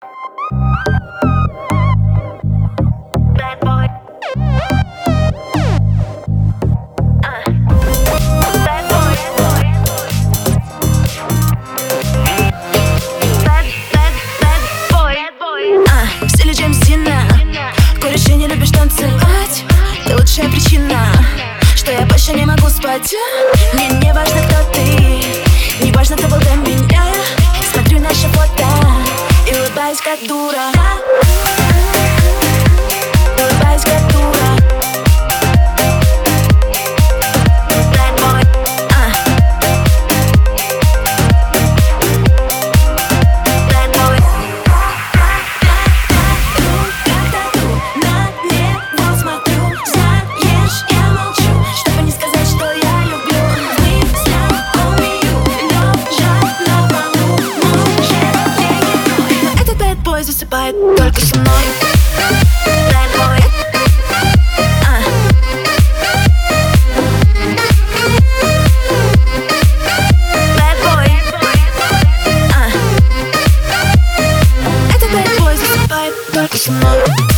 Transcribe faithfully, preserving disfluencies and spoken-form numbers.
Лучшая причина, что я больше не могу спать. Мне не важно, кто ты, не важно, кто был до меня. Смотрю наши фото и улыбаюсь, как дура. Улыбаюсь, как дура. Bad boy, uh. Bad boy. Когда ты на него смотрю, знаешь, я молчу, чтобы не сказать, что я люблю. Мы знакомию, лежат на полу, может, я еду. Но этот bad boy засыпает только со мной. Bad boy. Только со мной.